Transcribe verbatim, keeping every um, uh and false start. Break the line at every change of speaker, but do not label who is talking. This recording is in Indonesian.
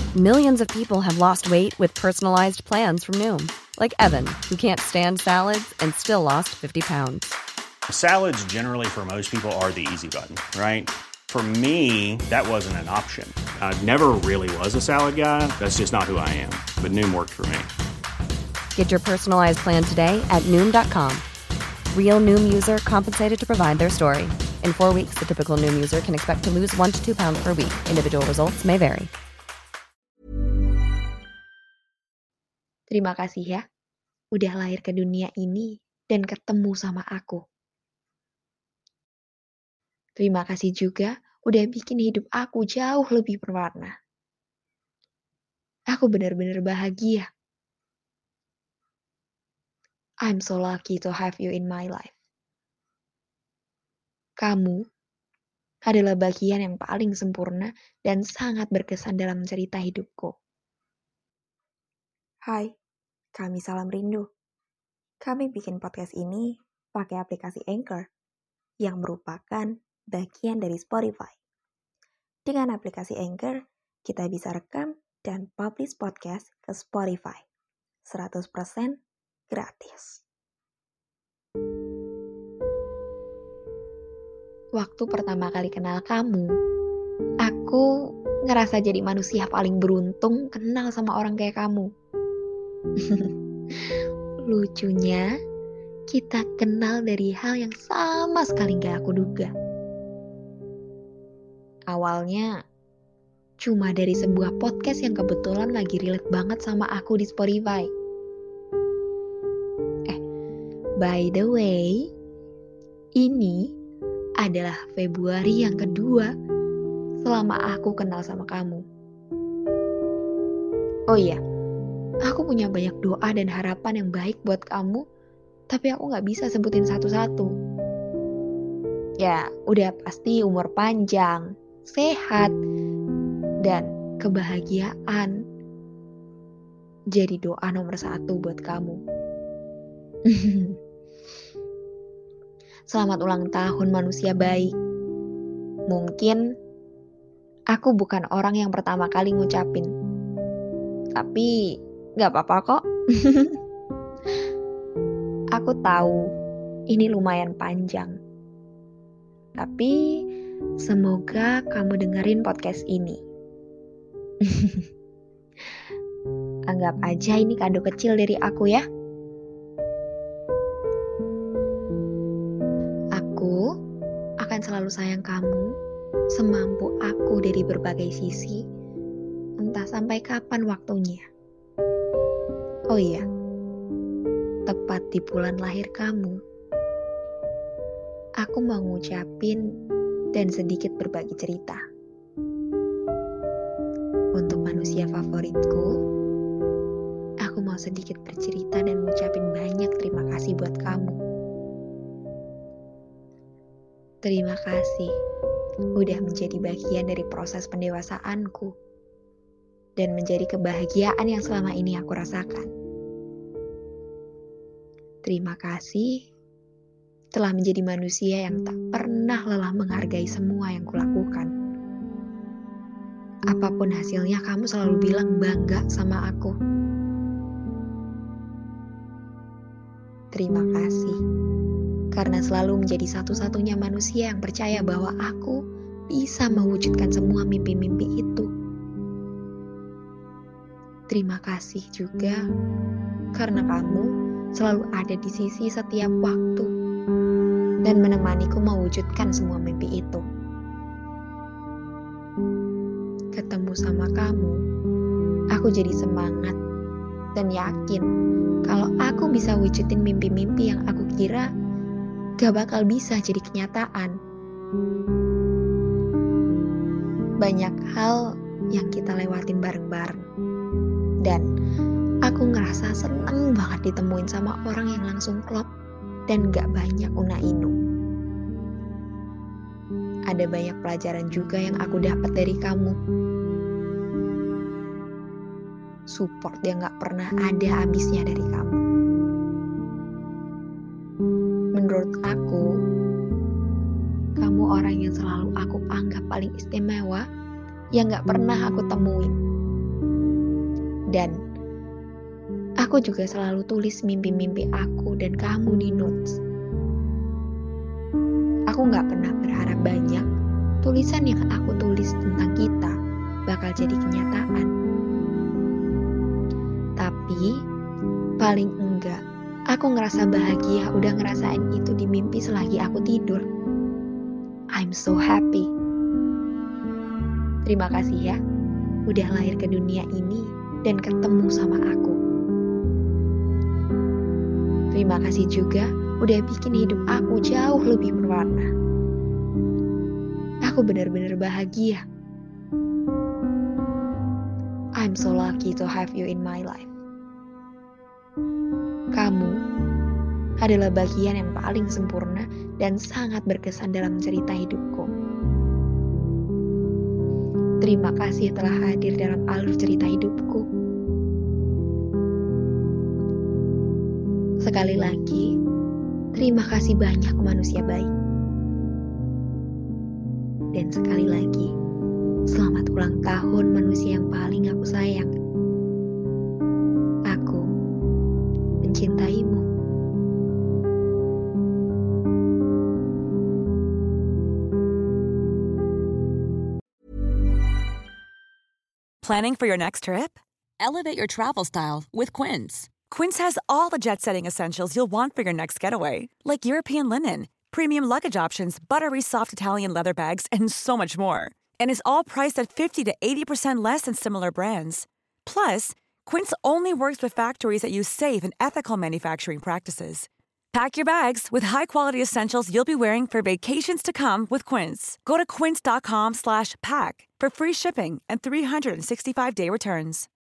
Millions of people have lost weight with personalized plans from Noom. Like Evan, who can't stand salads and still lost fifty pounds.
Salads generally for most people are the easy button, right? For me, that wasn't an option. I never really was a salad guy. That's just not who I am. But Noom worked for me.
Get your personalized plan today at Noom dot com. Real Noom user compensated to provide their story. In four weeks, the typical Noom user can expect to lose one to two pounds per week. Individual results may vary.
Terima kasih ya, udah lahir ke dunia ini dan ketemu sama aku. Terima kasih juga udah bikin hidup aku jauh lebih berwarna. Aku benar-benar bahagia. I'm so lucky to have you in my life. Kamu adalah bagian yang paling sempurna dan sangat berkesan dalam cerita hidupku. Hai, kami Salam Rindu. Kami bikin podcast ini pakai aplikasi Anchor yang merupakan bagian dari Spotify. Dengan aplikasi Anchor, kita bisa rekam dan publish podcast ke Spotify. seratus persen gratis. Waktu pertama kali kenal kamu, aku ngerasa jadi manusia paling beruntung kenal sama orang kayak kamu. Lucunya, kita kenal dari hal yang sama sekali gak aku duga. Awalnya, cuma dari sebuah podcast yang kebetulan lagi relate banget sama aku di Spotify. Eh, by the way, ini adalah Februari yang kedua selama aku kenal sama kamu. Oh iya, aku punya banyak doa dan harapan yang baik buat kamu, tapi aku gak bisa sebutin satu-satu. Ya, udah pasti umur panjang, sehat, dan kebahagiaan. Jadi doa nomor satu buat kamu. Selamat ulang tahun manusia baik. Mungkin aku bukan orang yang pertama kali ngucapin. Tapi gak apa-apa kok. Aku tahu ini lumayan panjang. Tapi semoga kamu dengerin podcast ini. Anggap aja ini kado kecil dari aku ya. Aku akan selalu sayang kamu semampu aku dari berbagai sisi, entah sampai kapan waktunya. Oh iya, tepat di bulan lahir kamu, aku mau ngucapin dan sedikit berbagi cerita. Untuk manusia favoritku, aku mau sedikit bercerita dan ngucapin banyak terima kasih buat kamu. Terima kasih udah menjadi bagian dari proses pendewasaanku dan menjadi kebahagiaan yang selama ini aku rasakan. Terima kasih telah menjadi manusia yang tak pernah lelah menghargai semua yang kulakukan. Apapun hasilnya, kamu selalu bilang bangga sama aku. Terima kasih karena selalu menjadi satu-satunya manusia yang percaya bahwa aku bisa mewujudkan semua mimpi-mimpi itu. Terima kasih juga karena kamu selalu ada di sisi setiap waktu dan menemaniku mewujudkan semua mimpi itu. Ketemu sama kamu, aku jadi semangat dan yakin kalau aku bisa wujudin mimpi-mimpi yang aku kira gak bakal bisa jadi kenyataan. Banyak hal yang kita lewatin bareng-bareng. Dan aku ngerasa seneng banget ditemuin sama orang yang langsung klop dan gak banyak una-inu. Ada banyak pelajaran juga yang aku dapat dari kamu. Support yang gak pernah ada habisnya dari kamu. Menurut aku, kamu orang yang selalu aku anggap paling istimewa yang gak pernah aku temuin. Dan aku juga selalu tulis mimpi-mimpi aku dan kamu di notes. Aku gak pernah berharap banyak tulisan yang aku tulis tentang kita bakal jadi kenyataan. Tapi paling enggak, aku ngerasa bahagia udah ngerasain itu di mimpi selagi aku tidur. I'm so happy. Terima kasih ya, udah lahir ke dunia ini dan ketemu sama aku. Terima kasih juga udah bikin hidup aku jauh lebih berwarna. Aku benar-benar bahagia. I'm so lucky to have you in my life. Kamu adalah bagian yang paling sempurna dan sangat berkesan dalam cerita hidupku. Terima kasih telah hadir dalam alur cerita hidupku. Sekali lagi, terima kasih banyak manusia baik. Dan sekali lagi, selamat ulang tahun manusia yang paling aku sayang. Aku mencintaimu.
Planning for your next trip? Elevate your travel style with Quince. Quince has all the jet-setting essentials you'll want for your next getaway, like European linen, premium luggage options, buttery soft Italian leather bags, and so much more. And is all priced at fifty to eighty percent less than similar brands. Plus, Quince only works with factories that use safe and ethical manufacturing practices. Pack your bags with high-quality essentials you'll be wearing for vacations to come with Quince. Go to quince.com slash pack for free shipping and three sixty-five day returns.